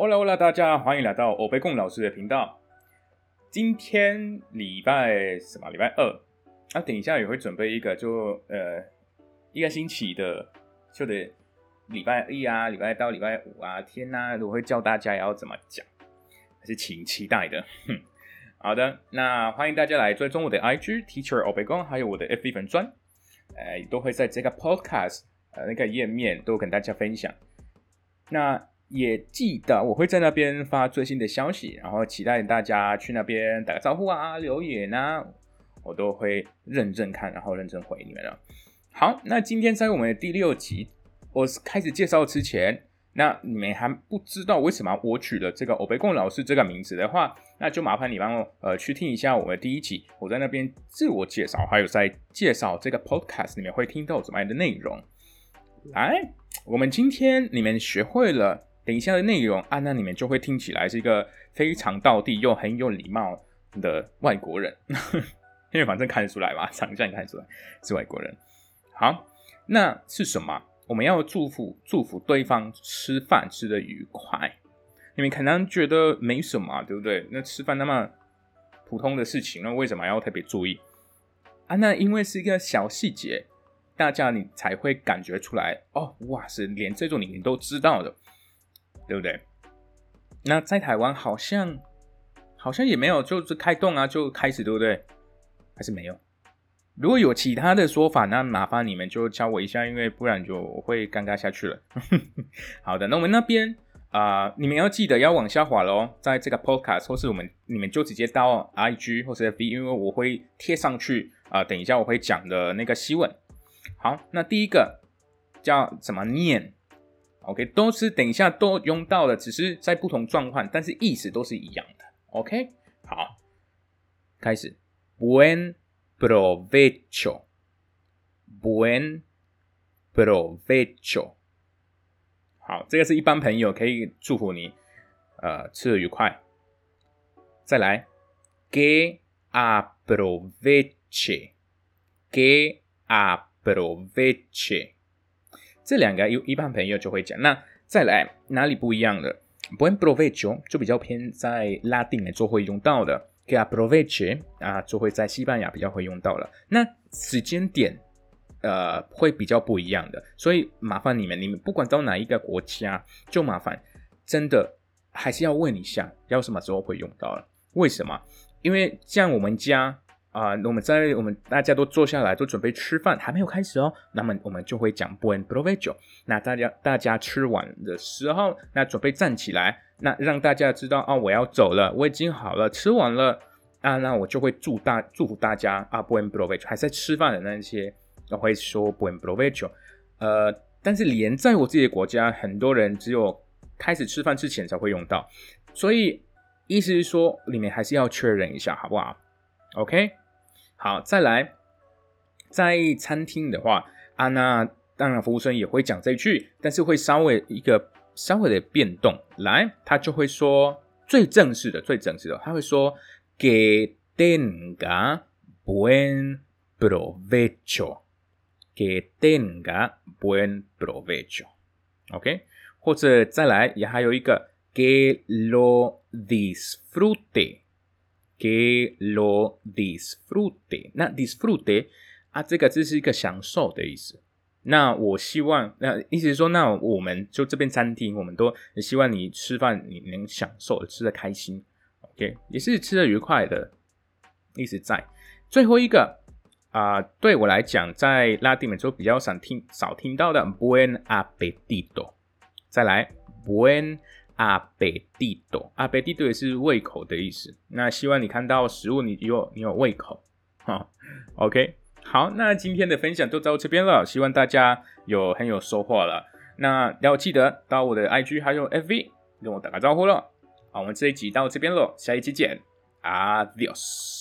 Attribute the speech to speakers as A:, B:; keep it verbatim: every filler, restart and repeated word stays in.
A: Hola Hola， 大家欢迎来到欧贝贡老师的频道。今天礼拜什么？礼拜二。啊，等一下也会准备一个就呃一个星期的，就的礼拜一啊，礼拜到礼拜五啊，天啊，我会教大家要怎么讲，还是请期待的。哼，好的，那欢迎大家来追踪我的 I G Teacher 欧贝贡，还有我的 F B 粉专，呃，都会在这个 Podcast 呃那个页面都跟大家分享。那也记得我会在那边发最新的消息，然后期待大家去那边打个招呼啊、留言啊，我都会认真看，然后认真回你们了。好，那今天在我们的第六集，我开始介绍之前，那你们还不知道为什么我取了这个欧贝贡老师这个名字的话，那就麻烦你帮我呃去听一下我们的第一集，我在那边自我介绍，还有在介绍这个 podcast 里面会听到怎么样的内容。来，我们今天你们学会了等一下的内容啊，那你们就会听起来是一个非常道地又很有礼貌的外国人，因为反正看得出来嘛，长相看得出来是外国人。好，那是什么？我们要祝福祝福对方吃饭吃得愉快。你们可能觉得没什么，对不对？那吃饭那么普通的事情，那为什么要特别注意啊？那因为是一个小细节。大家你才会感觉出来哦，哇塞，连这种你都知道的，对不对？那在台湾好像好像也没有，就是开动啊就开始，对不对？还是没有？如果有其他的说法，那麻烦你们就教我一下，因为不然就会尴尬下去了。好的，那我们那边啊、呃，你们要记得要往下滑咯，在这个 podcast 或是我们你们就直接到 I G 或是 F B， 因为我会贴上去啊、呃，等一下我会讲的那个新闻。好，那第一个叫怎么念 ？OK， 都是等一下都用到的，只是在不同状况，但是意思都是一样的。OK， 好，开始。Buen provecho， Buen provecho。好，这个是一般朋友可以祝福你，呃，吃得愉快。再来 ，Que aproveche，Que aproveche， 这两个一般朋友就会讲。那再来哪里不一样的 ？Buen provecho 就比较偏在拉丁的就会用到的 ，que aproveche 啊就会在西班牙比较会用到了。那时间点呃会比较不一样的，所以麻烦你们，你们不管到哪一个国家，就麻烦真的还是要问一下，要什么时候会用到了？为什么？因为像我们家。啊、呃，我们在我们大家都坐下来，都准备吃饭，还没有开始哦。那么我们就会讲 Buen provecho。那大家大家吃完的时候，那准备站起来，那让大家知道哦，我要走了，我已经好了，吃完了啊，那我就会祝大祝福大家啊 Buen provecho。还在吃饭的那些，我会说 Buen provecho。呃，但是连在我自己的国家，很多人只有开始吃饭之前才会用到，所以意思是说，你们还是要确认一下，好不好 ？OK。好，再来，在餐厅的话啊，那当然服务生也会讲这句，但是会稍微一个稍微的变动，来，他就会说最正式的、最正式的，他会说 que tenga buen provecho， que tenga buen provecho，OK， 或者再来也还有一个 que lo disfrute。Que lo disfrute， 那 disfrute 啊，这个字是一个享受的意思。那我希望，那意思是说，那我们就这边餐厅，我们都希望你吃饭你能享受，吃得开心 ，OK， 也是吃得愉快的意思在。最后一个啊、呃，对我来讲，在拉丁美洲比较少听少听到的 buen apetito， 再来 buen apetito， apetito 也是胃口的意思。那希望你看到食物你有你有胃口。OK， 好，那今天的分享就到这边了，希望大家有很有收获了。那要记得到我的 I G 还有 F B 跟我打个招呼了。好，我们这一集到这边了，下一期见 ，Adios。